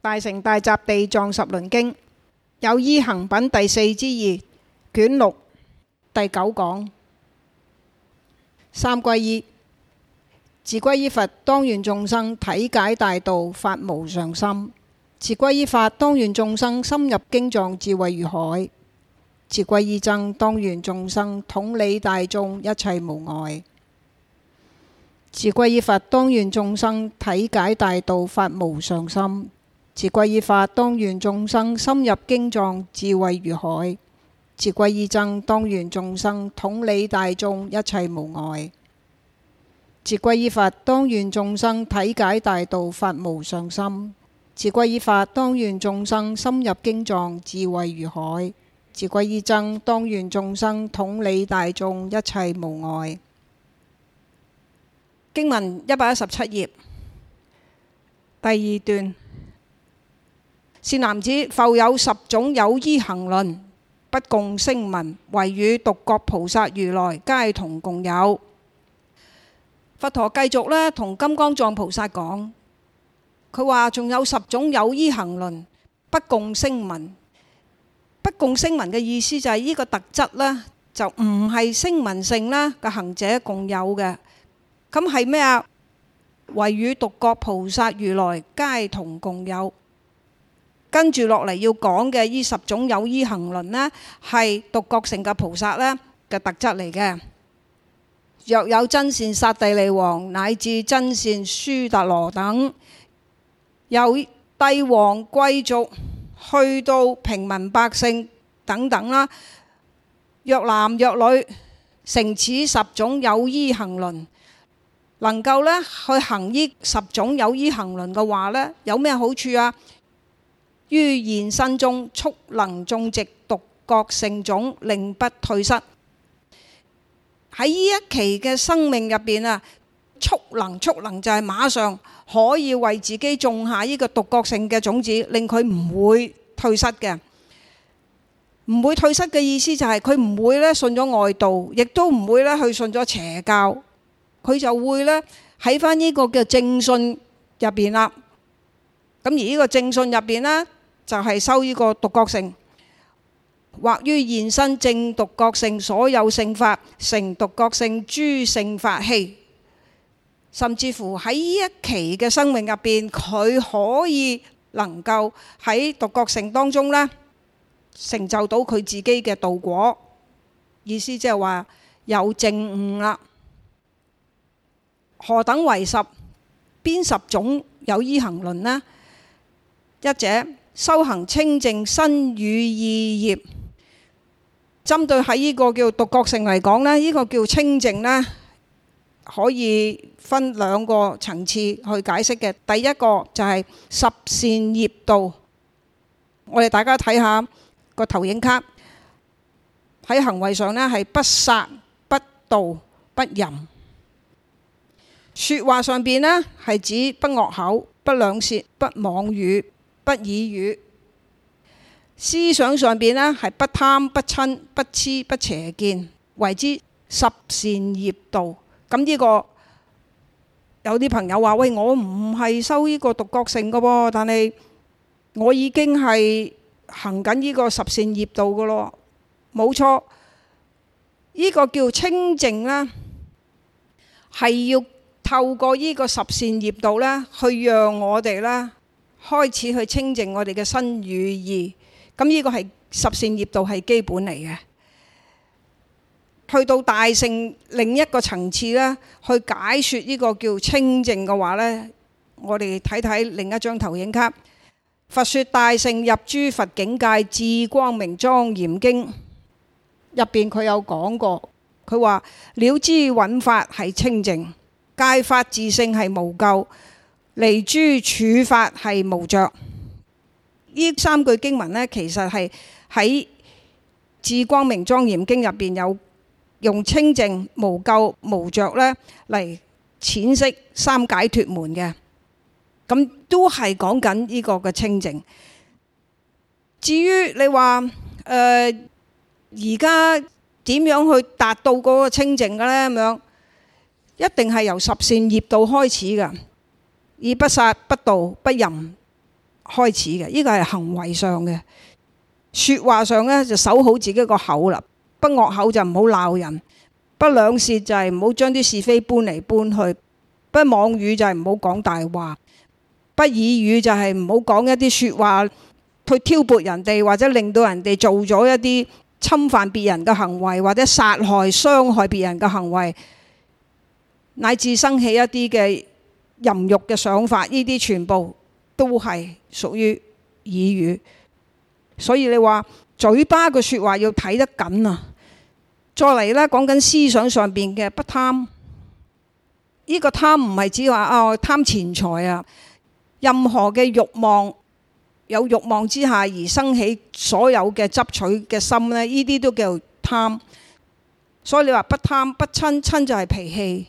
大乘大集地藏十輪經有依行品第4之2卷6第9講。三歸依。自歸依佛，當願眾生體解大道，發無上心；自歸依法，當願眾生深入經藏，智慧如海；自歸依僧，當願眾生統理大眾，一切無礙；自歸依佛，當願眾生體解大道，發無上心；自歸依法，當願眾生深入經藏，智慧如海；自歸依僧，當願眾生統理大眾，一切無礙；自歸依佛，當願眾生體解大道，發無上心；自歸依法，當願眾生深入經藏，智慧如海；自歸依僧，當願眾生統理大眾，一切無礙。經文117頁第2段。善男子，復有10種有依行輪，不共聲聞，唯與獨覺菩薩如來皆同共有。佛陀繼續咧同金剛藏菩薩講，佢話仲有10種有依行輪，不共聲聞。不共聲聞嘅意思就係呢個特質呢，就唔係聲聞乘啦嘅行者共有嘅。咁係咩啊？唯與獨覺菩薩如來皆同共有。跟住落嚟要講嘅呢10種有依行輪呢，係獨覺乘嘅菩薩呢嘅特質嚟嘅。若有真善剎帝利王乃至真善戌達羅等，由帝王貴族去到平民百姓等等啦，若男若女，乘此10種有依行輪，能夠呢去行呢10種有依行輪嘅話呢，有咩好處啊？於現身中速能種植獨覺乘種，令不退失。喺呢一期嘅生命入邊啊，速能就係馬上可以為自己種下呢個獨覺乘嘅種子，令佢唔會退失嘅。唔會退失嘅意思就係佢唔會咧信咗外道，亦都唔會咧去信咗邪教，佢就會咧喺翻呢個嘅正信入邊啦。咁而呢個正信入邊呢，就係修呢個獨覺乘。或於現身證獨覺乘所有聖法，成獨覺乘諸聖法器。甚至乎喺呢一期嘅生命入邊，佢可以能夠喺獨覺乘當中呢，成就到佢自己嘅道果。意思即係話有證悟啦。何等為10？邊10種有依行輪呢？一者修行清淨身語意業。針對喺呢個叫獨覺乘嚟講呢，呢個叫清淨呢，可以分2個層次去解釋嘅。第一個就係十善業道。我哋大家睇下個投影卡，喺行為上呢係不殺、不盜、不淫。說話上邊呢係指不惡口、不兩舌、不妄語、不綺語。思想上邊呢係不貪、不瞋、不痴、不邪見，為之十善業道。咁呢個有啲朋友話：喂，我唔係修呢個獨覺乘嘅喎，但係我已經係行緊呢個十善業道嘅咯。冇錯，呢個叫清淨啦，係要透過呢個十善業道咧，去讓我哋咧開始去清淨我哋嘅身語意。咁呢個係十善業道係基本嚟嘅。去到大乘另一個層次咧，去解説呢個叫清淨嘅話咧，我哋睇睇另一張投影卡。佛說大乘入諸佛境界智光明莊嚴經入邊佢有講過，佢話了知蘊法係清淨，界法自性係無垢，離諸處法係無着。呢3句經文呢，其實係喺《智光明莊嚴經》入邊有用清淨、無垢、無着呢嚟闡釋三解脫門嘅，咁都係講緊呢個嘅清淨。至於你話而家點樣去達到嗰個清淨嘅呢？咁樣一定係由十善業道開始㗎，以不殺、不盜、不淫開始嘅，呢個係行為上嘅。説話上呢，就守好自己個口啦，不惡口就唔好鬧人，不兩舌就係唔好將啲是非搬嚟搬去，不妄語就係唔好講大話，不綺語就係唔好講一啲説話去挑撥人哋，或者令到人哋做咗一啲侵犯別人嘅行為，或者殺害傷害別人嘅行為，乃至生起一啲嘅淫慾嘅想法，呢啲全部都係屬於綺語。所以你話嘴巴嘅説話要睇得緊啊！再嚟呢，講緊思想上邊嘅不貪，呢個貪唔係指話貪錢財啊，任何嘅慾望，有慾望之下而生起所有嘅執取嘅心呢，呢啲都叫貪。所以你話不貪不瞋，瞋就係脾氣。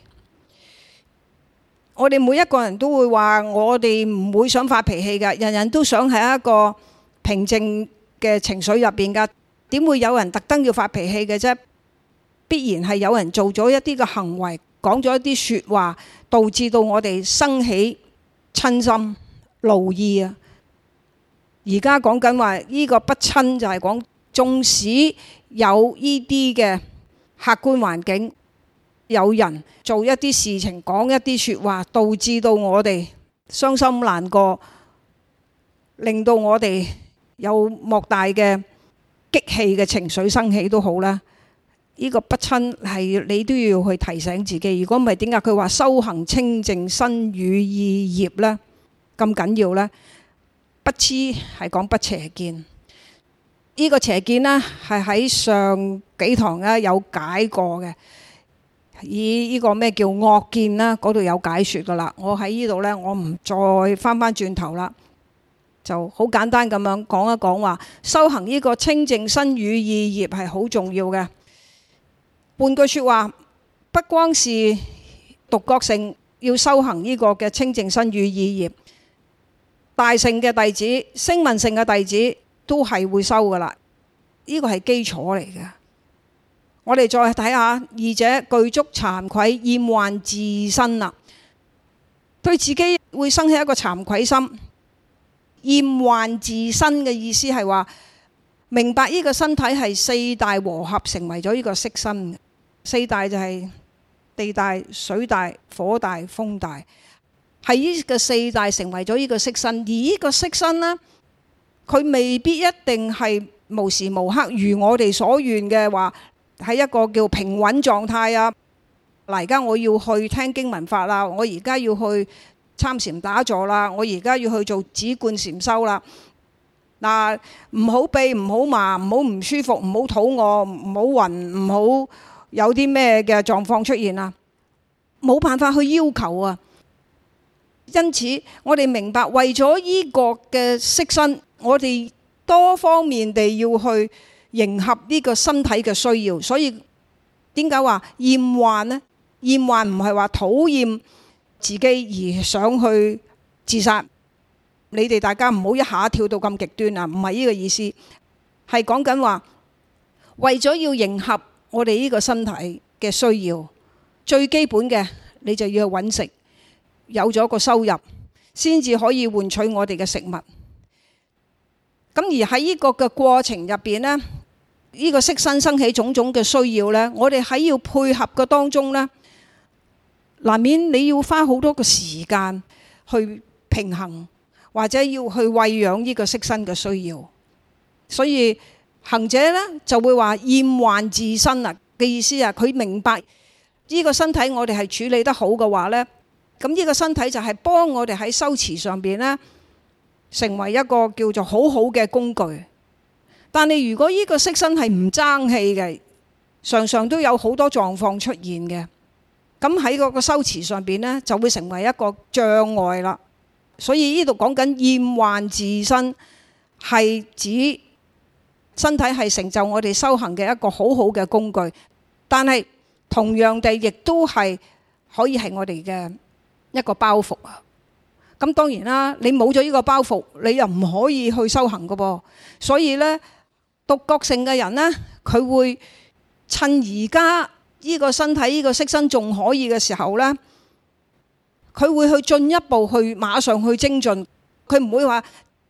我哋每一個人都會話，我哋唔會想發脾氣㗎，人人都想喺一個平靜嘅情緒入邊㗎，點會有人特登要發脾氣嘅啫？必然係有人做咗一啲嘅行為，講咗一啲説話，導致到我哋生起瞋心怒意啊！而家講緊話呢個不瞋就係講，縱使有呢啲嘅客觀環境，有人做一啲事情，講一啲説話，導致到我哋傷心難過，令到我哋有莫大嘅激氣嘅情緒生起都好啦。呢個不瞋係你都要去提醒自己。如果唔係，點解佢話修行清淨身語意業呢？咁緊要呢？不痴係講不邪見。呢個邪見呢，係喺上幾堂有解過嘅。以呢個咩叫惡見啦，嗰度有解説噶啦。我喺呢度呢，我唔再翻轉頭啦。就好簡單咁樣講一講話，修行呢個清淨身語意業係好重要嘅。換句説話，不光是獨覺乘要修行呢個嘅清淨身語意業，大乘嘅弟子、聲聞乘嘅弟子都係會修噶啦。呢個係基礎嚟嘅。我哋再睇下，二者具足慚愧厭患自身啦，對自己會生起一個慚愧心。厭患自身嘅意思係話，明白呢個身體係四大和合成為咗呢個色身。四大就係地大、水大、火大、風大，係呢個四大成為咗呢個色身。而呢個色身呢，佢未必一定係無時無刻如我哋所願嘅話，喺一個叫平穩狀態啊。嗱，而家我要去聽經聞法啦，我而家要去參禪打坐啦，我而家要去做止觀禪修啦。嗱，唔好痹，唔好麻，唔好唔舒服，唔好肚餓，唔好暈，唔好有啲咩嘅狀況出現啊，冇辦法去要求啊。因此我哋明白，為咗呢個嘅色身，我哋多方面地要去迎合呢個身體嘅需要。所以點解話厭患呢？厭患唔係話討厭自己而想去自殺。你哋大家唔好一下跳到咁極端啊！唔係呢個意思，係講緊話為咗要迎合我哋呢個身體嘅需要，最基本嘅你就要去揾食，有咗個收入先至可以換取我哋嘅食物。咁而喺呢個嘅過程入邊呢，呢個色身生起種種嘅需要呢，我哋喺要配合嘅當中呢，難免你要花好多個時間去平衡，或者要去餵養呢個色身嘅需要。所以行者呢就會話厭患自身啊嘅意思啊，佢明白呢個身體我哋係處理得好嘅話呢，咁呢個身體就係幫我哋喺修持上邊呢成為一個叫做好好嘅工具。但係如果呢個色身係唔爭氣嘅，常常都有好多狀況出現嘅，咁喺嗰個修持上邊呢就會成為一個障礙啦。所以呢度講緊厭患自身，係指身體係成就我哋修行嘅一個好好嘅工具，但係同樣地亦都係可以係我哋嘅一個包袱啊。咁當然啦，你冇咗呢個包袱，你又唔可以去修行㗎噃。所以呢，獨覺乘嘅人呢，佢會趁而家呢個身體呢個色身仲可以嘅時候呢，佢會去進一步去馬上去精進。佢唔會話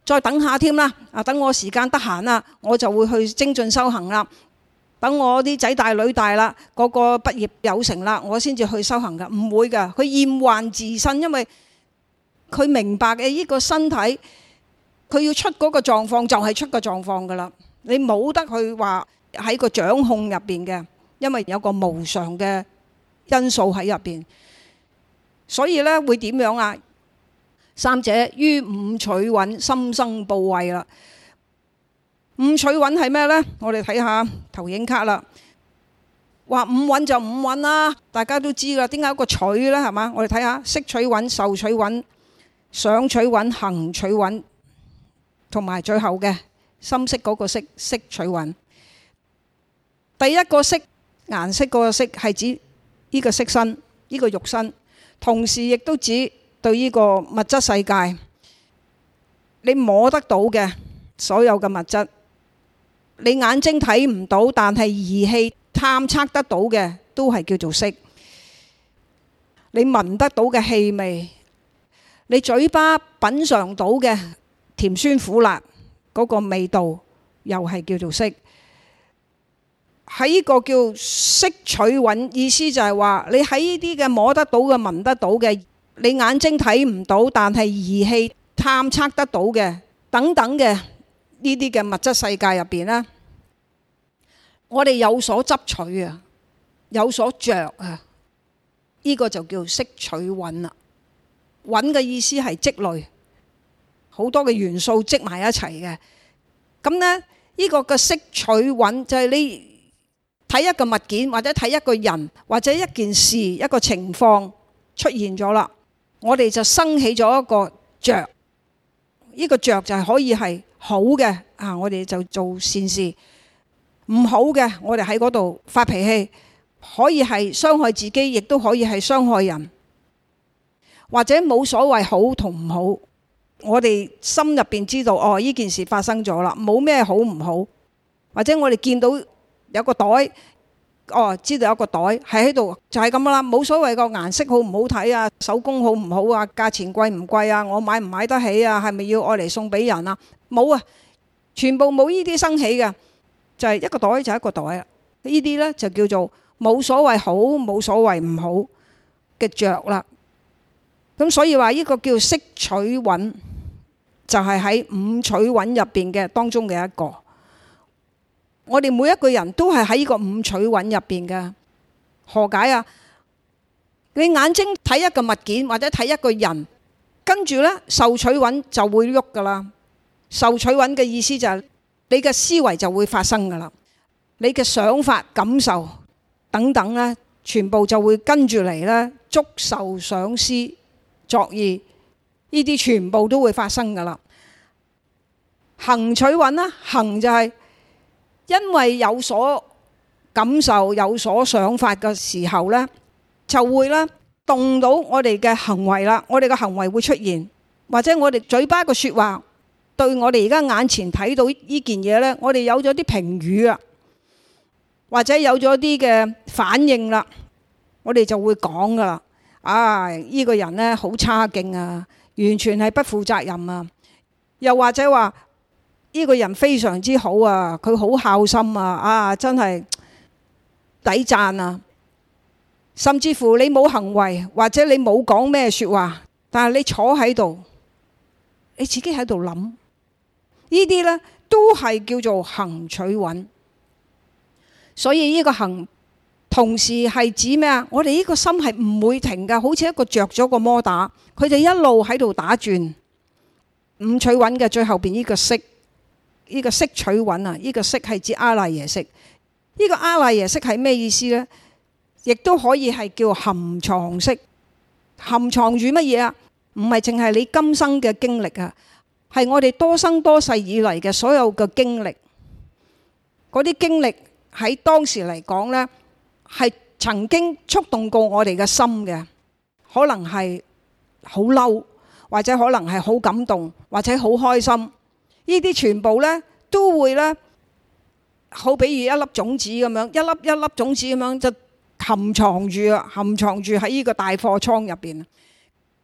再等下添啦，等我時間得閒啦，我就會去精進修行啦。等我啲仔大女大啦，個個畢業有成啦，我先至去修行噶。唔會噶，佢厭患自身，因為佢明白嘅呢個身體，佢要出嗰個狀況就係出個狀況噶啦。你冇得去話喺個掌控入邊嘅，因為有個無常嘅因素喺入邊。所以咧會點樣啊？三者於五取蘊，心生怖畏啦。五取蘊係咩呢？我哋睇下投影卡啦。話五蘊就五蘊啦，大家都知啦。點解有個取呢？係嘛？我哋睇下色取蘊、受取蘊、想取蘊、行取蘊，同埋最後嘅深色嗰個色，色取蘊。第一個色，顏色嗰個色係指呢個色身，呢個肉身，同時亦都指對呢個物質世界，你摸得到嘅所有嘅物質，你眼睛睇唔到，但係儀器探測得到嘅都係叫做色。你聞得到嘅氣味，你嘴巴品嚐到嘅甜酸苦辣嗰個味道，又係叫做色。喺呢個叫色取蘊，意思就係話你喺呢啲嘅摸得到嘅、聞得到嘅，你眼睛睇唔到，但係儀器探測得到嘅等等嘅呢啲嘅物質世界入邊呢，我哋有所執取啊，有所着啊，呢個就叫色取蘊啦。蘊嘅意思係積累，好多嘅元素積埋一齊嘅。咁呢，呢個嘅色取蘊就係你睇一個物件，或者睇一個人，或者一件事、一個情況出現咗啦，我哋就生起咗一個着。呢個着就係可以係好嘅啊，我哋就做善事；唔好嘅，我哋喺嗰度發脾氣，可以係傷害自己，亦都可以係傷害人，或者冇所謂好同唔好。我哋心入邊知道，哦，呢件事發生咗啦，冇咩好唔好。或者我哋見到有個袋，哦，知道有個袋係喺度，就係咁啦，冇所謂個顏色好唔好睇啊，手工好唔好啊，價錢貴唔貴啊，我買唔買得起啊，係咪要愛嚟送俾人啊？冇啊，全部冇呢啲生起嘅，就係一個袋就係一個袋啊。呢啲呢就叫做冇所謂好，冇所謂唔好嘅着啦。咁所以話呢個叫色取蘊，就係喺五取蘊入邊嘅當中嘅一個。我哋每一個人都係喺呢個五取蘊入邊嘅。何解啊？你眼睛睇一個物件或者睇一個人，跟住呢受取蘊就會喐噶啦。受取蘊嘅意思就係你嘅思維就會發生噶啦，你嘅想法、感受等等呢，全部就會跟住嚟呢，觸受想思作意，呢啲全部都會發生噶啦。行取蘊呢，行就係因為有所感受、有所想法嘅時候呢，就會呢動到我哋嘅行為啦。我哋嘅行為會出現，或者我哋嘴巴嘅說話，對我哋而家眼前睇到呢件嘢呢，我哋有咗啲評語啊，或者有咗啲嘅反應啦，我哋就會講噶啦。啊，呢個人呢好差勁啊，完全係不負責任啊。又或者話呢個人非常之好啊，佢好孝心啊，啊真係抵讚啊。甚至乎你冇行為，或者你冇講咩說話，但係你坐喺度，你自己喺度諗，呢啲呢都係叫做行取蘊。所以呢個行同時係指咩啊？我哋呢個心係唔會停噶，好似一個着咗個摩打，佢就一路喺度打轉。五取蘊嘅最後邊呢個色，呢個色取蘊啊，呢個色係指阿賴耶識。呢個阿賴耶識係咩意思呢？亦都可以係叫含藏識。含藏住乜嘢啊？唔係淨係你今生嘅經歷啊，係我哋多生多世以嚟嘅所有嘅經歷。嗰啲經歷喺當時嚟講呢，係曾經觸動過我哋嘅心嘅，可能係好嬲，或者可能係好感動，或者好開心。呢啲全部呢都會呢，好比如一粒種子咁樣，一粒一粒種子咁樣就含藏住啊，含藏住喺呢個大貨倉入邊。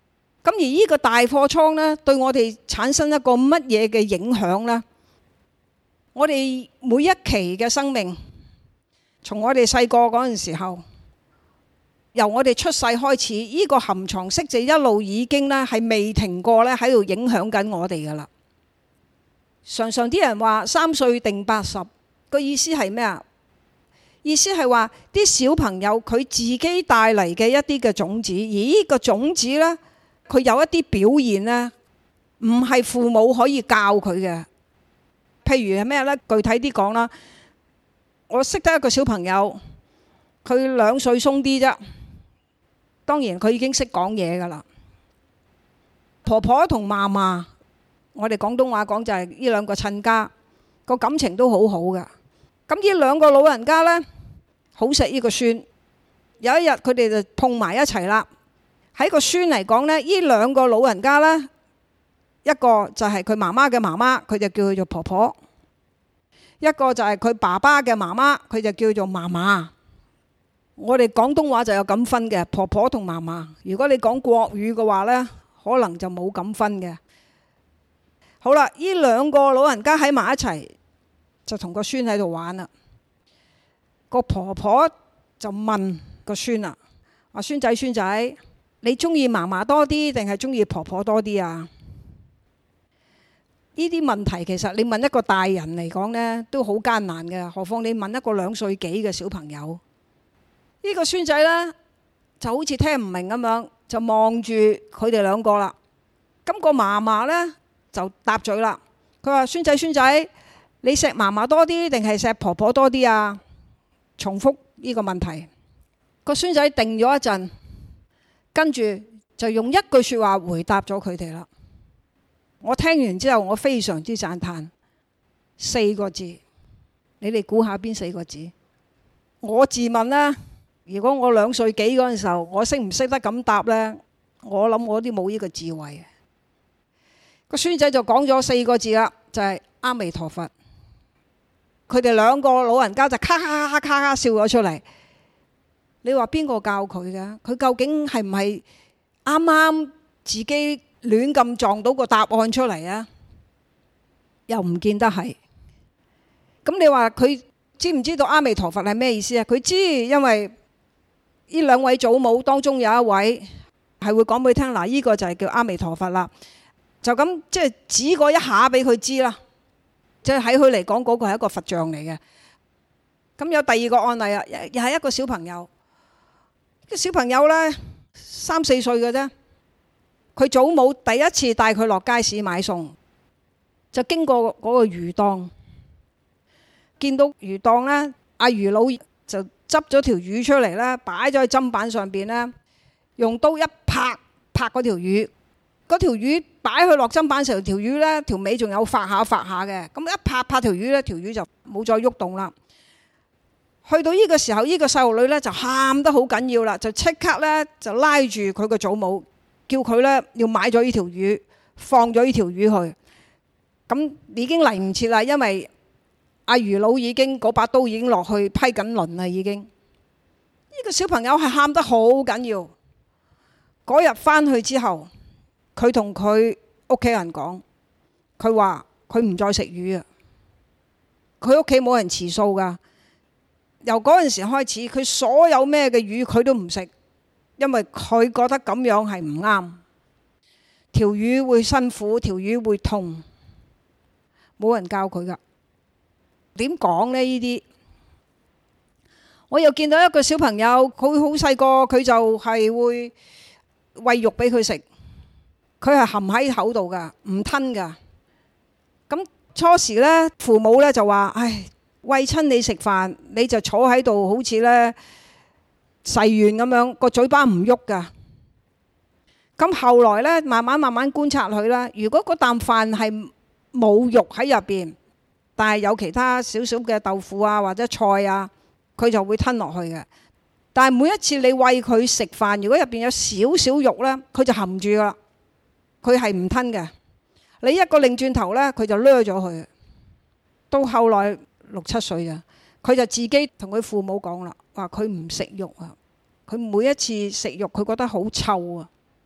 咁而呢個大貨倉呢，對我哋產生一個乜嘢嘅影響呢？我哋每一期嘅生命，從我哋細個嗰陣時候，由我哋出世開始，呢個含藏式就一路已經呢係未停過呢喺度影響緊我哋噶啦。常常啲人話3歲定80，個意思係咩啊？意思係話啲小朋友佢自己帶嚟嘅一啲嘅種子，而呢個種子呢，佢有一啲表現呢，唔係父母可以教佢嘅。譬如係咩呢？具體啲講啦，我識得一個小朋友，佢2歲鬆啲啫。當然佢已經識講嘢噶啦。婆婆同嫲嫲，我哋廣東話講就係呢兩個親家，個感情都好好噶。咁呢兩個老人家呢，好錫呢個孫。有一日佢哋就碰埋一齊啦。喺個孫嚟講呢，呢兩個老人家呢，一個就係佢媽媽嘅媽媽，佢就叫佢做婆婆；一個就係佢爸爸嘅媽媽，佢就叫做嫲嫲。我哋廣東話就有咁分嘅，婆婆同嫲嫲。如果你講國語嘅話呢，可能就冇咁分嘅。好啦，呢兩個老人家喺埋一齊，就同個孫喺度玩啦。個婆婆就問個孫啦：話孫仔孫仔，你中意嫲嫲多啲定係中意婆婆多啲啊？呢啲問題其實你問一個大人嚟講呢，都好艱難嘅，何況你問一個2歲幾嘅小朋友。呢個孫仔呢，就好似聽唔明咁樣，就望住佢哋兩個啦。咁個嫲嫲呢，就答嘴啦，佢話：孫仔孫仔，你錫嫲嫲多啲定係錫婆婆多啲啊？重複呢個問題。個孫仔定咗一陣，跟住就用一句説話回答咗佢哋啦。我聽完之後，我非常之讚歎，4個字，你哋估下邊4個字？我自問啦，如果我2歲幾嗰陣時候，我識唔識得咁答呢？我諗我啲冇呢個智慧。個孫仔就講咗4個字啦，就係阿彌陀佛。佢哋兩個老人家就咔咔咔咔咔笑咗出嚟。你話邊個教佢嘅？佢究竟係唔係啱啱自己亂咁撞到個答案出嚟啊？又唔見得係。咁你話佢知唔知道阿彌陀佛係咩意思啊？佢知，因為呢2位祖母當中有一位係會講俾佢聽，嗱，呢個就係叫阿彌陀佛啦。就咁即係指過一下俾佢知啦。即係喺佢嚟講，嗰個係一個佛像嚟嘅。咁有第2個案例啊，又係一個小朋友。個小朋友呢，3、4歲嘅啫。佢祖母第一次帶佢落街市買餸，就經過嗰個魚檔，見到魚檔呢，阿魚佬就執咗條魚出嚟啦，擺咗喺砧板上邊呢，用刀一拍嗰條魚，嗰條魚擺去落砧板時候，條魚呢條尾仲有發下嘅，咁一拍條魚呢，條魚就冇再喐動啦。去到呢個時候，呢個細路女呢就喊得好緊要啦，就即刻呢就拉住佢個祖母，叫佢呢要買咗呢條魚，放咗呢條魚去。咁已經嚟唔切啦，因為阿魚佬已經嗰把刀已經落去批緊輪啦，已經。呢個小朋友係喊得好緊要。嗰日返去之後，佢同佢屋企人講，佢話佢唔再食魚啊。佢屋企冇人持素噶。由嗰陣時開始，佢所有咩嘅魚佢都唔食，因為佢覺得咁樣係唔啱。條魚會辛苦，條魚會痛，冇人教佢噶。點講呢？呢啲我又見到一個小朋友，佢好細個，佢就係會餵肉俾佢食，佢係含喺口度噶，唔吞噶。咁初時呢，父母呢就話：唉，餵親你食飯，你就坐喺度，好似呢誓願咁樣，個嘴巴唔喐噶。咁後來呢，慢慢觀察佢啦。如果嗰啖飯係冇肉喺入邊，但係有其他少少嘅豆腐啊或者菜啊，佢就會吞落去嘅。但係每一次你餵佢食飯，如果入邊有少少肉呢，佢就含住啦，佢係唔吞嘅。你一個擰轉頭呢，佢就掠咗佢。到後來6、7歲啊，佢就自己同佢父母講啦，話佢唔食肉啊，佢每一次食肉佢覺得好臭啊，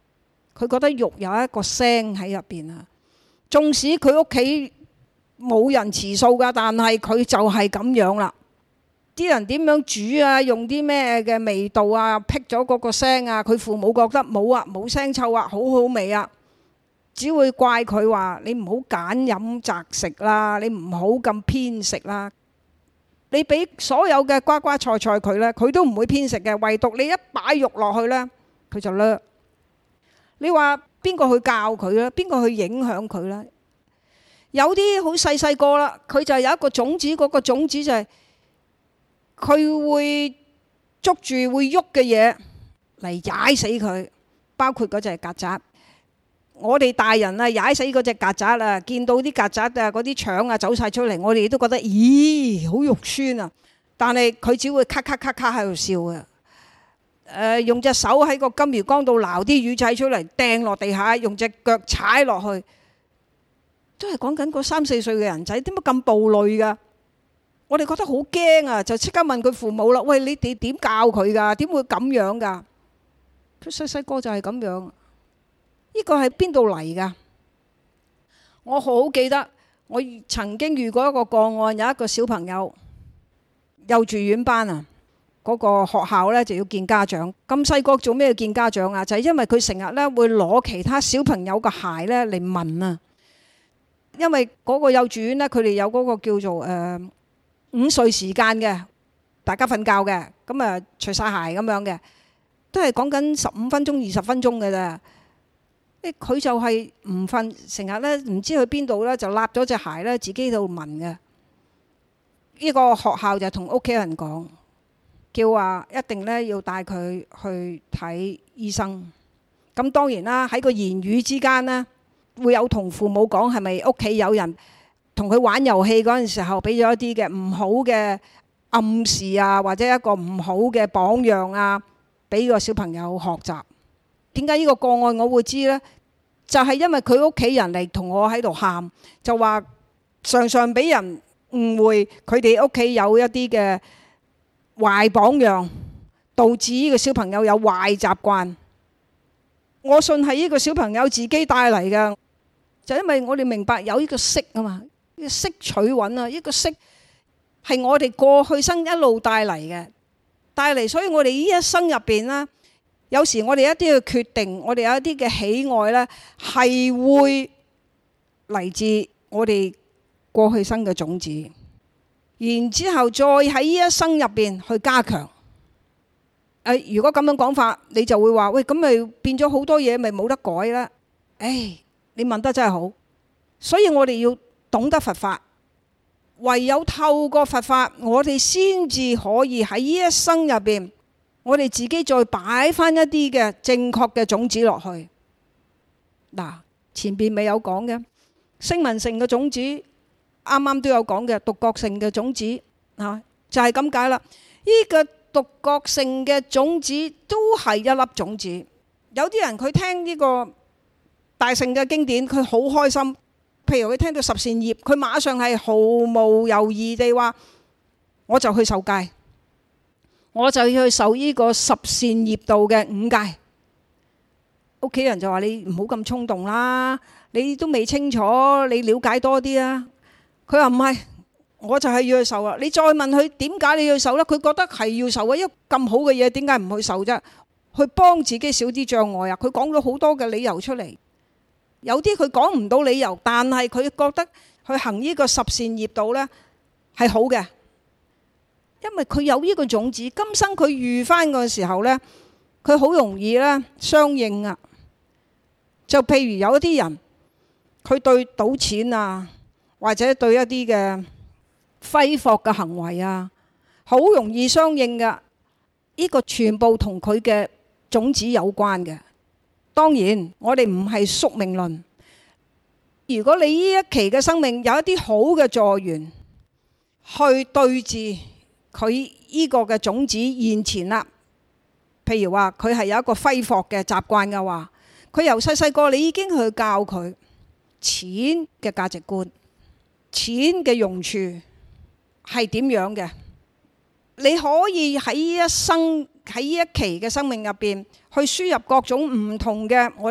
佢覺得肉有一個聲喺入邊啊。縱使佢屋企冇人持素㗎，但係佢就係咁樣啦。啲人點樣煮啊，用啲咩嘅味道啊，辟咗嗰個聲啊，佢父母覺得冇啊，冇腥臭啊，好好味啊，只會怪佢話你唔好揀飲擇食啦，你唔好咁偏食啦。你俾所有嘅瓜瓜菜菜佢呢，佢都唔會偏食嘅，唯獨你一擺肉落去呢，佢就叻。你話邊個去教佢呢？邊個去影響佢呢？有啲好細細個啦，佢就有一個種子，嗰個種子就係佢會捉住會喐嘅嘢嚟踩死佢，包括嗰隻曱甴。我哋大人啊，踩死嗰隻曱甴啊，見到啲曱甴啊，嗰啲腸啊走晒出嚟，我哋都覺得咦，好肉酸啊！但係佢只會咔咔咔咔喺度笑啊。用隻手喺個金魚缸度撈啲魚仔出嚟，掟落地下，用隻腳踩落去，都係講緊嗰3、4歲嘅人仔，點解咁暴戾㗎？我哋覺得好驚啊，就即刻問佢父母啦。喂，你哋點教佢㗎？點會咁樣㗎？佢細細個就係咁樣。呢個係邊度嚟㗎？我好記得，我曾經遇過一個個案，有一個小朋友幼稚園班啊，嗰個學校呢就要見家長。咁細個做咩要見家長啊？就係因為佢成日呢會攞其他小朋友嘅鞋呢嚟聞啊。因為嗰個幼稚園呢，佢哋有嗰個叫做午睡時間嘅，大家瞓覺嘅，咁啊除晒鞋咁樣嘅，都係講緊15分鐘、20分鐘嘅咋。佢就係唔瞓，成日咧唔知去邊度咧，就揦咗隻鞋咧，自己喺度聞嘅。呢個學校就同屋企人講，叫話一定咧要帶佢去睇醫生。咁當然啦，喺個言語之間呢，會有同父母講，係咪屋企有人同佢玩遊戲嗰陣時候，俾咗一啲嘅唔好嘅暗示啊，或者一個唔好嘅榜樣啊，俾個小朋友學習。點解呢個個案我會知呢？就係因為佢屋企人嚟同我喺度喊，就話常常俾人誤會佢哋屋企有一啲嘅壞榜樣，導致呢個小朋友有壞習慣。我信係呢個小朋友自己帶嚟嘅，就因為我哋明白有呢個識啊嘛，呢個識取穩啊，呢個識係我哋過去生一路帶嚟，所以我哋呢一生入邊啦。有時我哋一啲嘅決定，我哋有一啲嘅喜愛呢，係會嚟自我哋過去生嘅種子，然之後再喺呢一生入邊去加強。如果咁樣講法，你就會話：喂，咁咪變咗好多嘢，咪冇得改啦。你問得真係好，所以我哋要懂得佛法，唯有透過佛法，我哋先至可以喺呢一生入邊。我哋自己再擺翻一啲嘅正確嘅種子落去。嗱，前邊咪有講嘅聲聞乘嘅種子，啱啱都有講嘅獨覺乘嘅種子嚇，就係咁解啦。呢個獨覺乘嘅種子都係一粒種子。有啲人佢聽呢個大乘嘅經典，佢好開心。譬如佢聽到十善業，佢馬上係毫無猶豫地話：我就去受戒。我就要去受呢個十善業道嘅5戒。屋企人就話：你唔好咁衝動啦，你都未清楚，你了解多啲啊。佢話唔係，我就係要去受啦。你再問佢點解你要去受呢？佢覺得係要受啊，因為咁好嘅嘢點解唔去受啫？去幫自己少啲障礙啊。佢講咗好多嘅理由出嚟，有啲佢講唔到理由，但係佢覺得去行呢個十善業道呢係好嘅。因為佢有呢個種子，今生佢遇翻嘅時候呢，佢好容易呢相應啊。就譬如有一啲人，佢對賭錢啊，或者對一啲嘅揮霍嘅行為啊，好容易相應噶。呢個全部同佢嘅種子有關嘅。當然，我哋唔係宿命論。如果你呢一期嘅生命有一啲好嘅助緣，去對治佢呢個嘅種子現前啦，譬如話佢係有一個揮霍嘅習慣嘅話，佢由細細個你已經去教佢錢嘅價值觀，錢嘅用處係點樣嘅。你可以喺一生喺呢一期嘅生命入邊去輸入各種唔同嘅我哋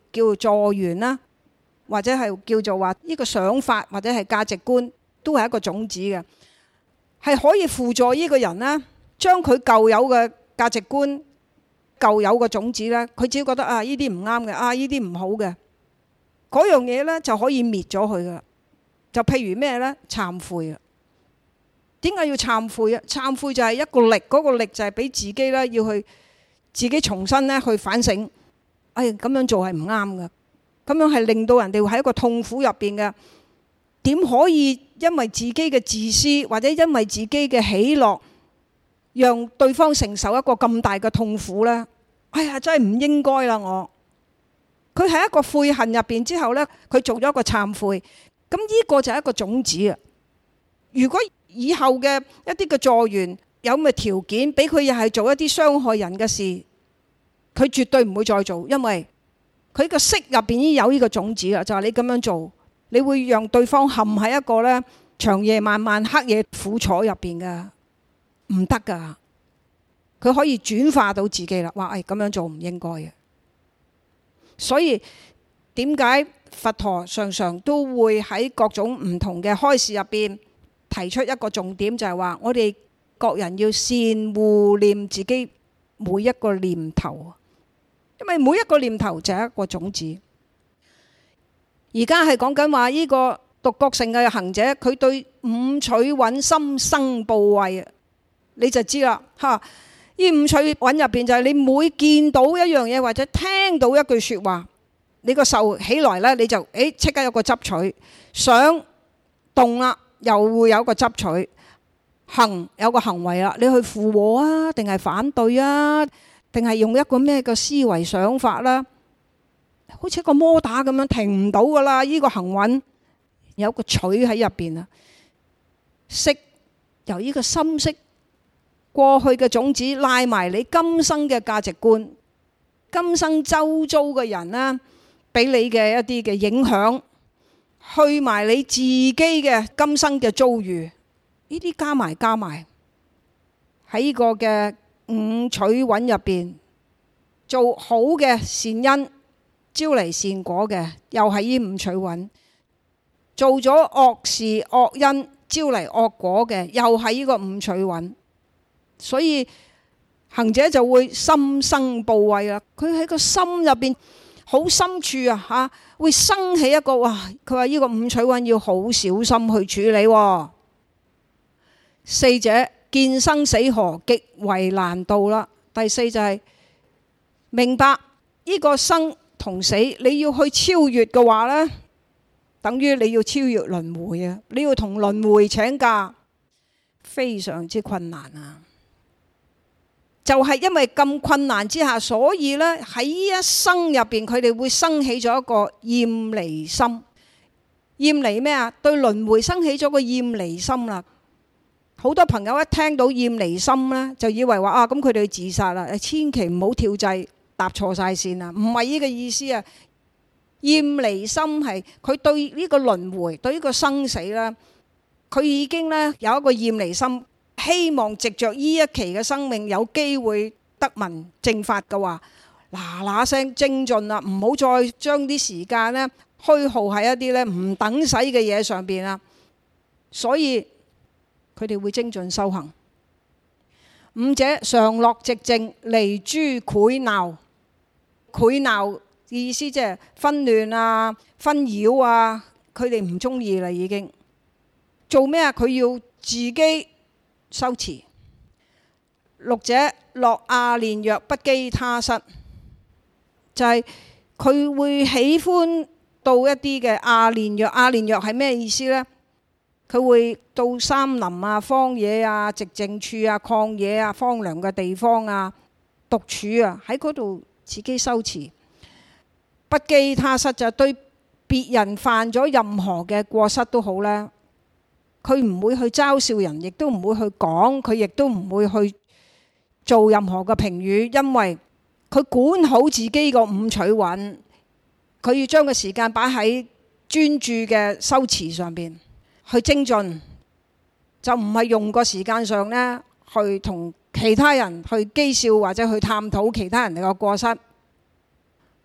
叫做助緣啦，或者係叫做話呢個想法或者係價值觀，都係一個種子嘅，係可以輔助呢個人呢，將佢舊有嘅價值觀、舊有嘅種子呢，佢只要覺得啊呢啲唔啱嘅，啊呢啲唔好嘅，嗰樣嘢呢就可以滅咗佢噶啦。就譬如咩呢？懺悔啊！點解要懺悔啊？懺悔就係一個力，嗰個力就係俾自己呢，要去自己重新呢去反省。咁樣做係唔啱嘅，咁樣係令到人哋會喺一個痛苦入邊嘅。點可以因為自己嘅自私或者因為自己嘅喜樂，讓對方承受一個咁大嘅痛苦呢？真係唔應該啦！佢喺一個悔恨入邊之後呢，佢做咗一個懺悔。咁呢個就係一個種子啊！如果以後嘅一啲嘅助緣有咁嘅條件，俾佢又係做一啲傷害人嘅事，佢絕對唔會再做，因為佢個識入邊已經有呢個種子啦。就係你咁樣做，你會讓對方陷喺一個呢長夜漫漫、黑夜苦楚入邊嘅，唔得噶。佢可以轉化到自己啦，話咁樣做唔應該嘅。所以點解佛陀常常都會喺各種唔同嘅開示入邊提出一個重點，就係話我哋各人要善護念自己每一個念頭，因為每一個念頭就係一個種子。而家係講緊話呢個獨覺乘嘅行者，佢對五取蘊心生怖畏，你就知啦嚇。呢五取蘊入邊就係你每見到一樣嘢或者聽到一句説話，你個受起來呢，你就即刻有個執取，想動啦，又會有個執取，行有個行為啦，你去附和啊，定係反對啊，定係用一個咩嘅思維想法啦，好似一個摩打咁樣停唔到噶啦。呢個行蘊有個取喺入邊啊，識由呢個心識過去嘅種子拉埋你今生嘅價值觀，今生周遭嘅人啦，俾你嘅一啲嘅影響，去埋你自己嘅今生嘅遭遇，呢啲加埋喺呢個嘅五取蘊入邊，做好嘅善因招嚟善果嘅，又係呢五取蘊；做咗惡事惡因招嚟惡果嘅，又係呢個五取蘊。所以行者就會心生怖畏啦，佢喺個心入邊好深處啊，會生起一個佢話呢個五取蘊要好小心去處理。四者見生死河極為難度啦。第四就係明白呢個生同死，你要去超越嘅話呢，等於你要超越輪迴啊！你要同輪迴請假，非常之困難啊！就係因為咁困難之下，所以呢喺呢一生入邊，佢哋會生起咗一個厭離心。厭離咩啊？對輪迴生起咗個厭離心啦。好多朋友一聽到厭離心呢，就以為話咁佢哋自殺啦。千祈唔好跳掣，踏錯晒線啊！唔係呢個意思啊。厭離心係佢對呢個輪迴，對呢個生死啦，佢已經呢有一個厭離心。希望藉着呢一期嘅生命有機會得聞正法嘅話，嗱聲精進啦，唔好再將啲時間呢虛耗喺一啲呢唔等使嘅嘢上邊啦。所以佢哋會精進修行。五者常樂寂靜，離諸擾鬧。擾鬧意思即係紛亂啊、紛擾啊，佢哋唔中意啦已經。做咩啊？佢要自己修持。六者樂阿練若，不羈他室，就係佢會喜歡到一啲嘅阿練若。阿練若係咩意思呢？佢會到山林啊、荒野啊、寂靜處啊、曠野啊、荒涼嘅地方啊、獨處啊，喺嗰度自己修持。不羈他室就對別人犯咗任何嘅過失都好咧，佢唔會去嘲笑人，亦都唔會去講，佢亦都唔會去做任何嘅評語，因為佢管好自己個五取蘊，佢要將個時間擺喺專注嘅修持上邊去精進，就唔係用個時間上呢去同其他人去譏笑或者去探討其他人哋嘅過失。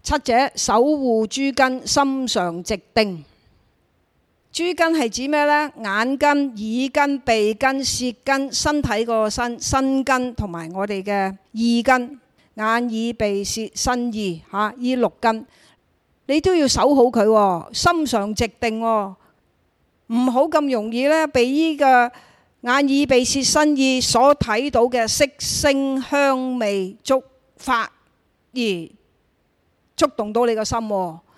七者，守護諸根，心常寂定。諸根係指咩呢？眼根、耳根、鼻根、舌根、身體個身根同埋我哋嘅意根，眼耳鼻舌身意呢六根，你都要守好佢，心常寂定，唔好咁容易呢被呢個眼耳鼻舌身意所睇到嘅色聲香味觸法而觸動到你個心。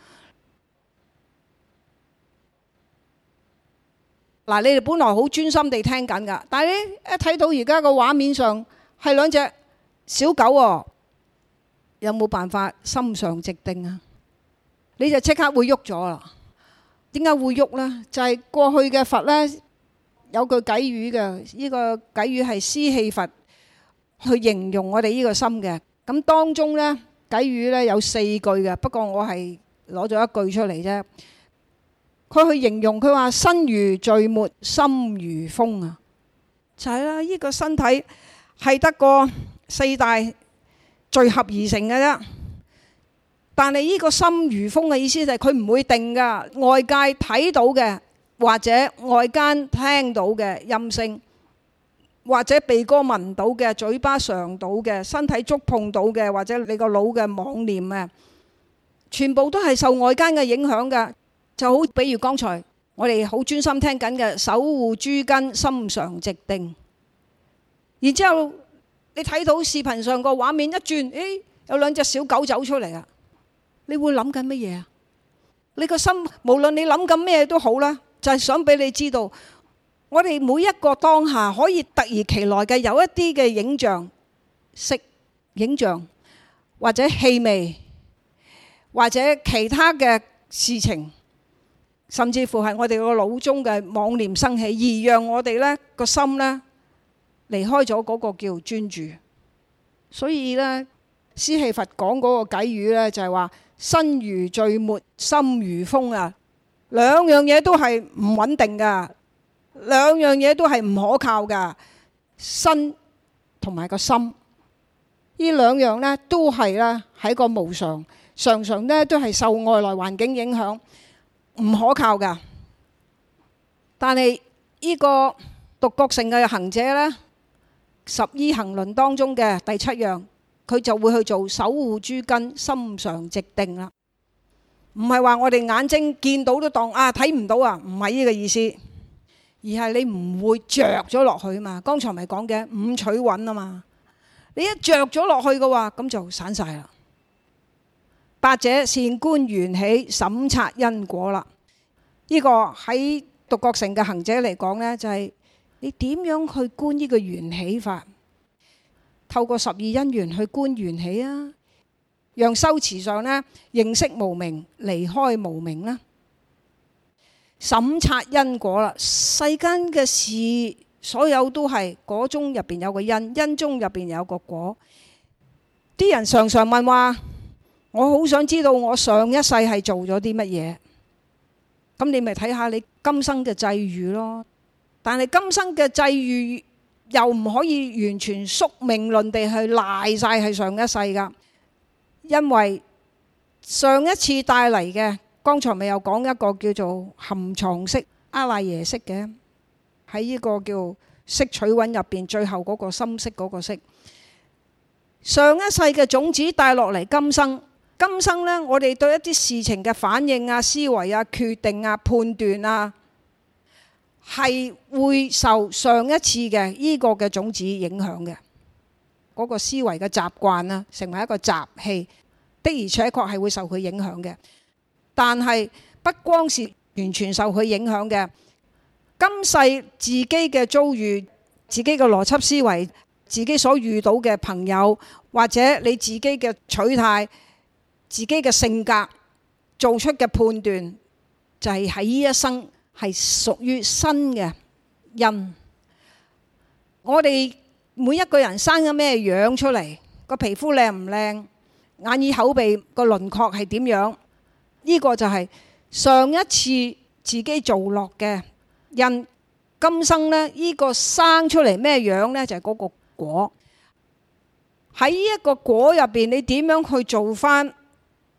嗱，你哋本來好專心地聽緊㗎，但係你一睇到而家個畫面上係兩隻小狗喎，有冇辦法心常寂定啊？你就即刻會喐咗啦。點解會喐呢？就係過去嘅佛呢，有句偈語嘅，呢個偈語係施氣佛去形容我哋呢個心嘅。咁當中呢，偈語呢有4句嘅，不過我係攞咗一句出嚟啫。佢去形容，佢話身如聚沫，心如風啊，就係啦。呢個身體係得個4大聚合而成嘅啫。但係呢個心如風嘅意思就係佢唔會定噶，外界睇到嘅或者外間聽到嘅音聲，或者鼻哥聞到嘅、嘴巴嘗到嘅、身體觸碰到嘅，或者你個腦嘅妄念啊，全部都係受外間嘅影響嘅。就好比如剛才我哋好專心聽緊嘅守護諸根，心常寂定。然之後你睇到視頻上個畫面一轉，有兩隻小狗走出嚟啊！你會諗緊乜嘢啊？你個心無論你諗緊咩都好啦，就係想俾你知道，我哋每一個當下可以突如其來嘅有一啲嘅影像、色影像，或者氣味，或者其他嘅事情。甚至乎係我哋個腦中嘅妄念生起，而讓我哋呢個心呢離開咗嗰個叫專注。所以呢，施氣佛講嗰個偈語呢，就係話身如聚沫，心如風啊。兩樣嘢都係唔穩定噶，兩樣嘢都係唔可靠噶。身同埋個心，呢兩樣呢都係呢喺個無常，常常呢都係受外來環境影響。唔可靠噶，但係呢個獨覺乘嘅行者呢，十依行輪當中嘅第7樣，佢就會去做守護諸根，心常寂定啦。唔係話我哋眼睛見到都當睇唔到啊，唔係呢個意思，而係你唔會着咗落去嘛。剛才咪講嘅五取蘊啊嘛，你一着咗落去嘅話，咁就散晒啦。8者，善觀緣起，審察因果啦。呢個喺獨覺乘嘅行者嚟講呢，就係你點樣去觀呢個緣起法？透過12因緣去觀緣起啊，讓修持上呢認識無明，離開無明啦。審察因果啦，世間嘅事所有都係果中入邊有個因，因中入邊有個果。啲人常常問話，我好想知道我上一世係做咗啲乜嘢，咁你咪睇下你今生嘅際遇咯。但係今生嘅際遇又唔可以完全宿命論地去賴晒係上一世噶，因為上一次帶嚟嘅，剛才咪有講一個叫做含藏識、阿賴耶識嘅，喺呢個叫色取蘊入邊最後嗰個深色嗰個識，上一世嘅種子帶落嚟今生。今生呢，我哋對一啲事情嘅反應啊、思維啊、決定啊、判斷啊，係會受上一次嘅呢個嘅種子影響嘅。嗰個思維嘅習慣啊，成為一個習氣，的而且確係會受佢影響嘅。但係不光是完全受佢影響嘅，今世自己嘅遭遇、自己嘅邏輯思維、自己所遇到嘅朋友，或者你自己嘅取態、自己嘅性格做出嘅判斷，就係喺呢一生係屬於新嘅因。我哋每一個人生咗咩樣出嚟，個皮膚靚唔靚，眼耳口鼻個輪廓係點樣，呢個就係上一次自己做落嘅因。今生呢，呢個生出嚟咩樣呢？就係嗰個果。喺呢一個果入邊，你點樣去做翻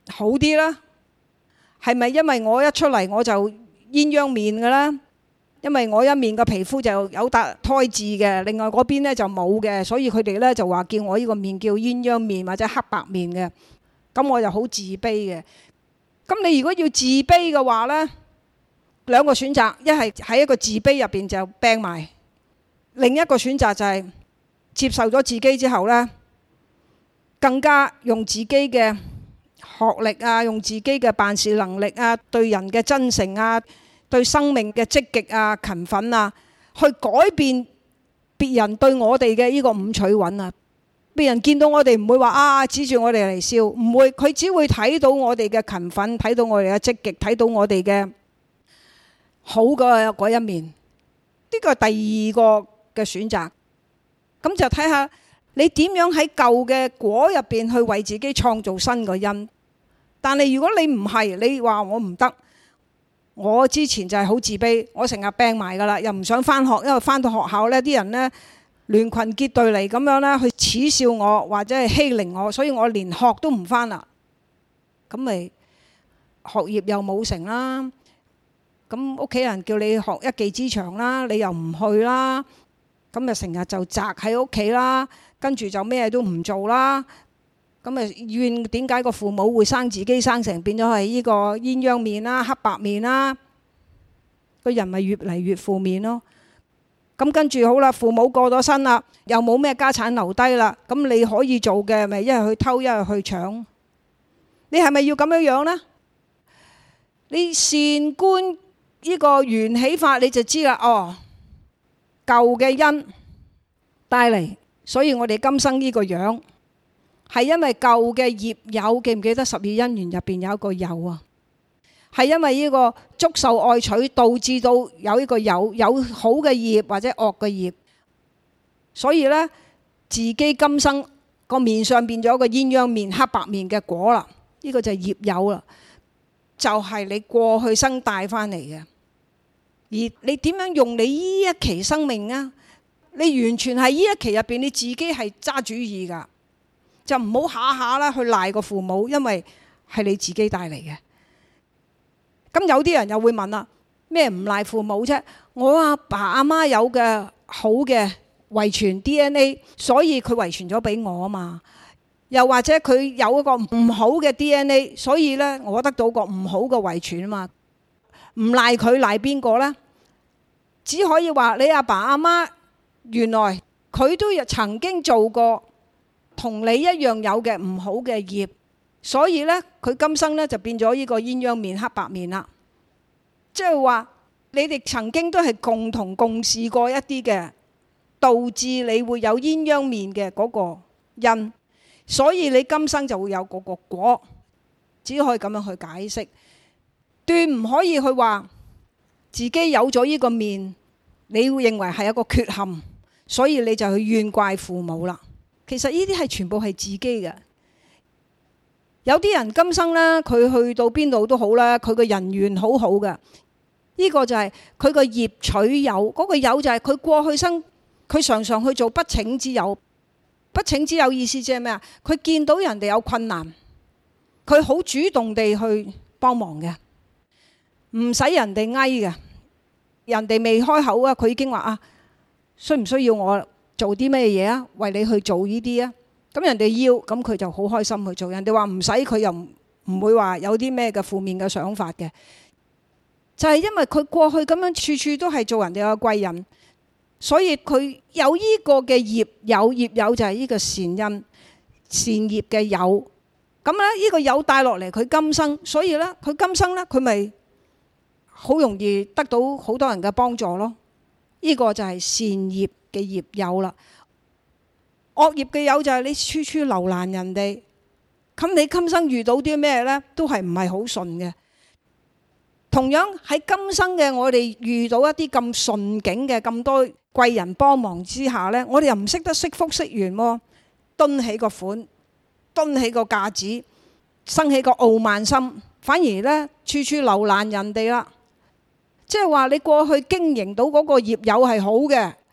好啲啦？係咪因為我一出嚟我就鴛鴦面嘅啦？因為我一面個皮膚就有笪胎痣嘅，另外嗰邊咧就冇嘅，所以佢哋咧就話叫我呢個面叫鴛鴦面或者黑白面嘅。咁我就好自卑嘅。咁你如果要自卑嘅話咧，兩個選擇，一係喺一個自卑入邊就病埋，另一個選擇就係接受咗自己之後咧，更加用自己嘅學歷啊，用自己嘅辦事能力啊，對人嘅真誠啊，對生命嘅積極啊、勤奮啊，去改變別人對我哋嘅呢個五取蘊啊。別人見到我哋唔會話指住我哋嚟笑，唔會，佢只會睇到我哋嘅勤奮，睇到我哋嘅積極，睇到我哋嘅好嘅嗰一面。呢個係第二個嘅選擇。咁就睇下你點樣喺舊嘅果入邊去為自己創造新個因。但係如果你唔係，你話我唔得，我之前就係好自卑，我成日病埋噶啦，又唔想返學，因為返到學校呢啲人呢聯群結隊嚟咁樣呢去恥笑我或者係欺凌我，所以我連學都唔返啦。咁咪學業又冇成啦。咁屋企人叫你學一技之長啦，你又唔去啦。咁就成日就宅喺屋企啦，跟住就咩都唔做啦。咁啊怨點解個父母會生自己生成變咗係呢個鴛鴦面啦、黑白面啦，個人咪越嚟越負面咯。咁跟住好啦，父母過咗身啦，又冇咩家產留低啦，咁你可以做嘅咪一係去偷，一係去搶。你係咪要咁樣樣呢？你善觀呢個緣起法，你就知啦。哦，舊嘅因帶嚟，所以我哋今生呢個樣係因為舊嘅業有，記唔記得十二因緣入邊有一個有啊？係因為呢個觸受愛取導致到有呢個有好嘅業或者惡嘅業，所以呢，自己今生個面上變咗個鴛鴦面、黑白面嘅果啦。呢個就係業有啦，就係你過去生帶返嚟嘅。而你點樣用你呢一期生命啊？你完全係呢一期入邊你自己係揸主意㗎，就唔好下下啦去賴個父母，因為係你自己帶嚟嘅。咁有啲人又會問啦，咩唔賴父母啫？我阿爸阿媽有嘅好嘅遺傳 DNA， 所以佢遺傳咗俾我啊嘛。又或者佢有一個唔好嘅 DNA， 所以呢，我得到個唔好嘅遺傳啊嘛。唔賴佢，賴邊個呢？只可以話你阿爸阿媽原來佢都曾經做過同你一樣有嘅唔好嘅業，所以呢，佢今生呢就變咗呢個鴛鴦面、黑白面啦。即係話你哋曾經都係共同共事過一啲嘅，導致你會有鴛鴦面嘅嗰個因，所以你今生就會有嗰個果。只可以咁樣去解釋，斷唔可以去話自己有咗呢個面，你會認為係一個缺陷，所以你就去怨怪父母啦。其實呢啲係全部係自己嘅。有啲人今生呢，佢去到邊度都好啦，佢個人緣好好嘅。呢個就係佢個業取有，嗰個有就係佢過去生，佢常常去做不請之有。不請之有意思即係咩啊？佢見到人哋有困難，佢好主動地去幫忙嘅，唔使人哋嗌嘅。人哋未開口啊，佢已經話需唔需要我做啲咩嘢啊？為你去做呢啲啊？咁人哋要，咁佢就好開心去做。人哋話唔使，佢又唔會話有啲咩嘅負面嘅想法嘅。就係因為佢過去咁樣處處都係做人哋嘅貴人，所以佢有呢個嘅業有就係呢個善因善業嘅有。咁咧呢個有帶落嚟佢今生，所以咧佢今生咧佢咪好容易得到好多人嘅幫助咯。呢個就係善業嘅業有啦。惡業嘅有就係你處處留難人哋，咁你今生遇到啲咩咧，都係唔係好順嘅。同樣喺今生嘅我哋遇到一啲咁順境嘅咁多貴人幫忙之下呢，我哋又唔識得惜福惜緣喎，蹲起個款，蹲起個架子，生起個傲慢心，反而呢處處留難人哋啦。即係話你過去經營到嗰個業有係好嘅，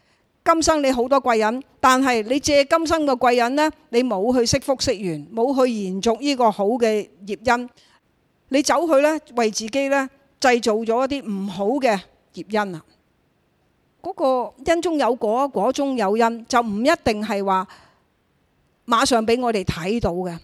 今生你好多貴人，但係你借今生嘅貴人呢，你冇去惜福惜緣，冇去延續呢個好嘅業因，你走去呢，為自己呢製造咗一啲唔好嘅業因啊！嗰個因中有果，果中有因，就唔一定係話馬上俾我哋睇到嘅。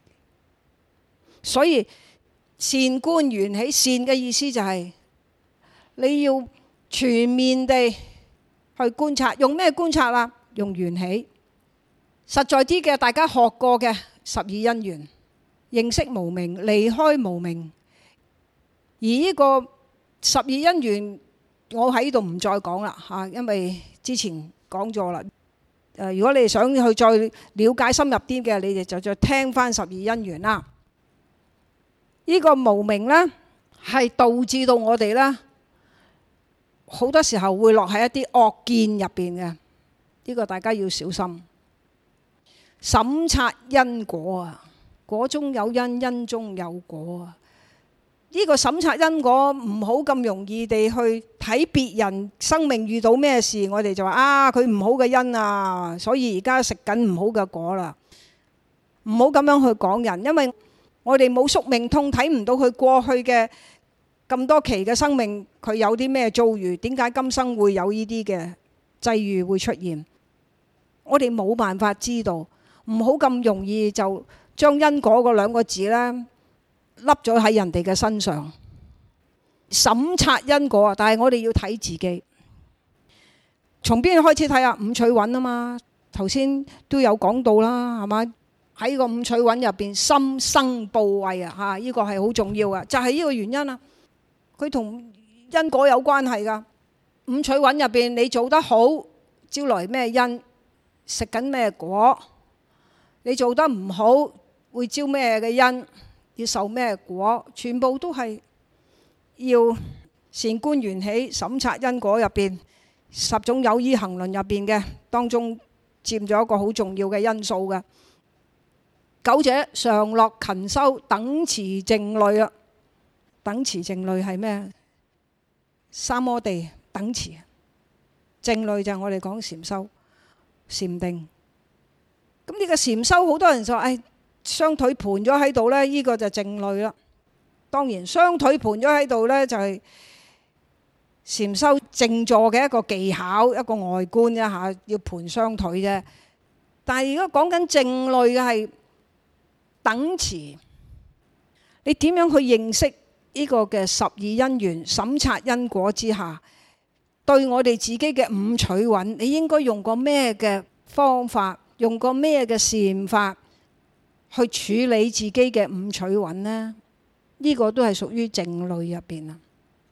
所以善觀緣起，善嘅意思就係你要全面地去觀察，用咩觀察啦？用緣起。實在啲嘅，大家學過嘅十二因緣，認識無明，離開無明。而呢個十二因緣，我喺度唔再講啦嚇，因為之前講咗啦。如果你哋想去再了解深入啲嘅，你哋就再聽翻十二因緣啦。呢個無明呢，係導致到我哋呢，好多時候會落喺一啲惡見入邊嘅，呢個大家要小心。審察因果啊，果中有因，因中有果啊。呢個審察因果唔好咁容易地去睇別人生命遇到咩事，我哋就話啊，佢唔好嘅因啊，所以而家食緊唔好嘅果啦。唔好咁樣去講人，因為我哋冇宿命通，睇唔到佢過去嘅咁多期嘅生命，佢有啲咩遭遇，點解今生會有呢啲嘅際遇會出現，我哋冇辦法知道。唔好咁容易就將因果嗰兩個字呢，笠咗喺人哋嘅身上。審察因果啊，但係我哋要睇自己。從邊開始睇啊？五取蘊啊嘛，頭先都有講到啦，係嘛？喺個五取蘊入邊，心生怖畏啊，嚇！呢個係好重要嘅，就係呢個原因啊。佢同因果有關係㗎。五取蘊入邊，你做得好，招來咩因，食緊咩果；你做得唔好，會招咩嘅因，要受咩果，全部都係要善觀緣起、審察因果入邊十種有依行輪入邊嘅當中，佔咗一個好重要嘅因素嘅。九者常樂勤修，等持靜慮啊！等持靜慮係咩？三摩地等持，靜慮就係我哋講禪修、禪定。咁呢個禪修，好多人就話：雙腿盤咗喺度呢，呢個就靜慮啦。當然，雙腿盤咗喺度呢，就係禪修靜坐嘅一個技巧，一個外觀一下，要盤雙腿啫。但係如果講緊靜慮嘅係等持，你點樣去認識呢個嘅十二因緣，審察因果之下，對我哋自己嘅五取蘊，你應該用個咩嘅方法，用個咩嘅善法去處理自己嘅五取蘊呢？呢個都係屬於靜慮入邊啊。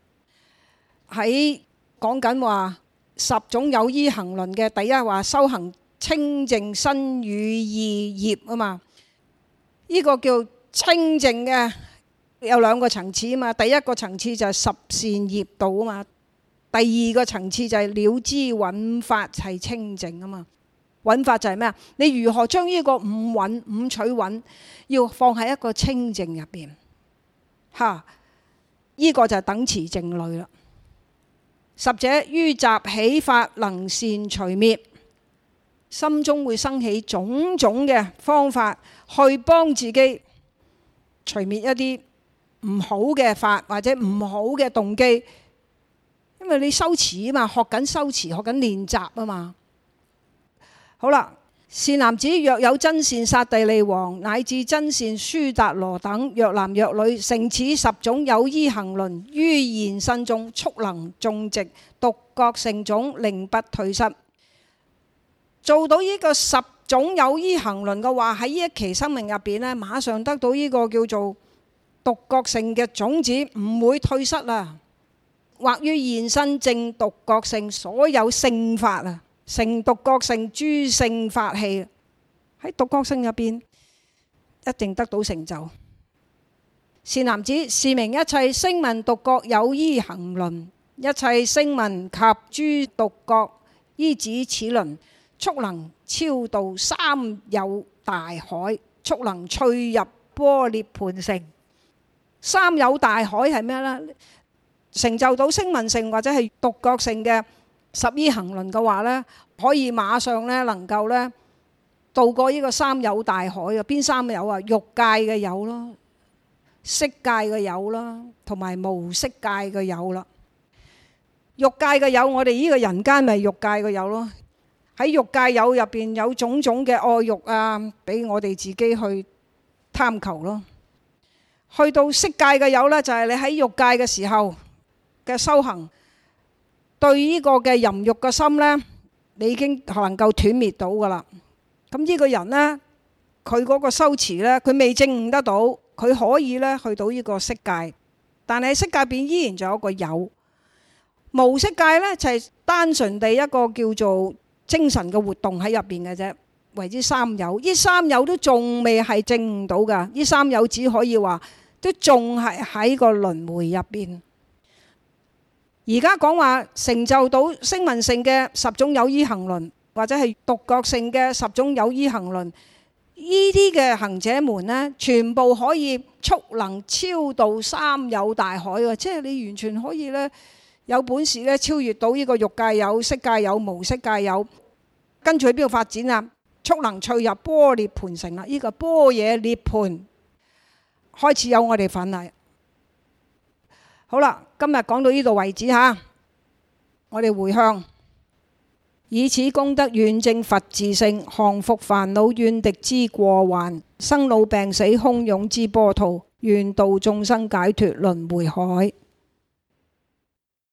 喺講緊話十種有依行輪嘅第一話，修行清淨身語意業啊嘛。呢個叫清淨嘅有兩個層次啊嘛。第一個層次就係十善業道啊嘛。第二個層次就係了知蘊法係清淨啊嘛。蘊法就係咩啊？你如何將呢個五蘊、五取蘊要放喺一個清淨入邊？嚇，呢個就係等持靜慮啦。十者於習起法能善除滅，心中會生起種種嘅方法去幫自己除滅一啲唔好嘅法或者唔好嘅動機，因為你修持啊嘛，學緊修持，學緊練習啊嘛。好啦，善男子，若有真善剎帝利王乃至真善戌達羅等，若男若女，成此十種有依行輪，於現身中速能種植獨覺乘種，令不退失。做到呢個十種有依行輪嘅話，喺呢一期生命入邊呢，馬上得到呢個叫做獨覺乘嘅種子，唔會退失啦。或於現身證獨覺乘所有聖法啊，成獨覺乘諸聖法器，喺獨覺乘入邊一定得到成就。善男子，是名一切聲聞獨覺有依行輪，一切聲聞及諸獨覺依止此輪，速能超度三有大海，速能趣入般涅槃城。三有大海係咩呢？成就到聲聞乘或者係獨覺乘嘅十依行輪嘅話呢，可以馬上呢能夠呢渡過呢個三有大海嘅。邊三有啊？欲界嘅有咯，色界嘅有啦，同埋無色界嘅有啦。欲界嘅有，我哋呢個人間咪欲界嘅有咯。喺欲界有入邊有種種嘅愛欲啊，俾我哋自己去貪求咯。去到色界嘅有呢，就係你喺欲界嘅時候嘅修行，對呢個嘅淫欲嘅心呢，你已經能夠斷滅到噶啦。咁呢個人呢，佢嗰個修持呢，佢未證悟得到，佢可以呢去到呢個色界，但係色界邊依然仲有個有。無色界呢，就係單純地一個叫做精神嘅活動喺入邊嘅啫，為之三有。呢三有都仲未係證悟到噶，呢三有只可以話都仲係喺個輪迴入邊。而家講話成就到聲聞乘嘅十種有依行輪，或者係獨覺乘嘅十種有依行輪，呢啲嘅行者們呢，全部可以速能超度三有大海嘅，即係你完全可以呢，有本事呢超越到呢個欲界有、色界有、無色界有，跟住去邊度發展啊？速能趣入般涅槃城啦！呢個般若涅槃開始有我哋份啦。好啦，今日講到呢度為止嚇，我哋回向，以此功德願證佛自性，降伏煩惱怨敵之過患，生老病死洶湧之波濤，願度眾生解脫輪迴海。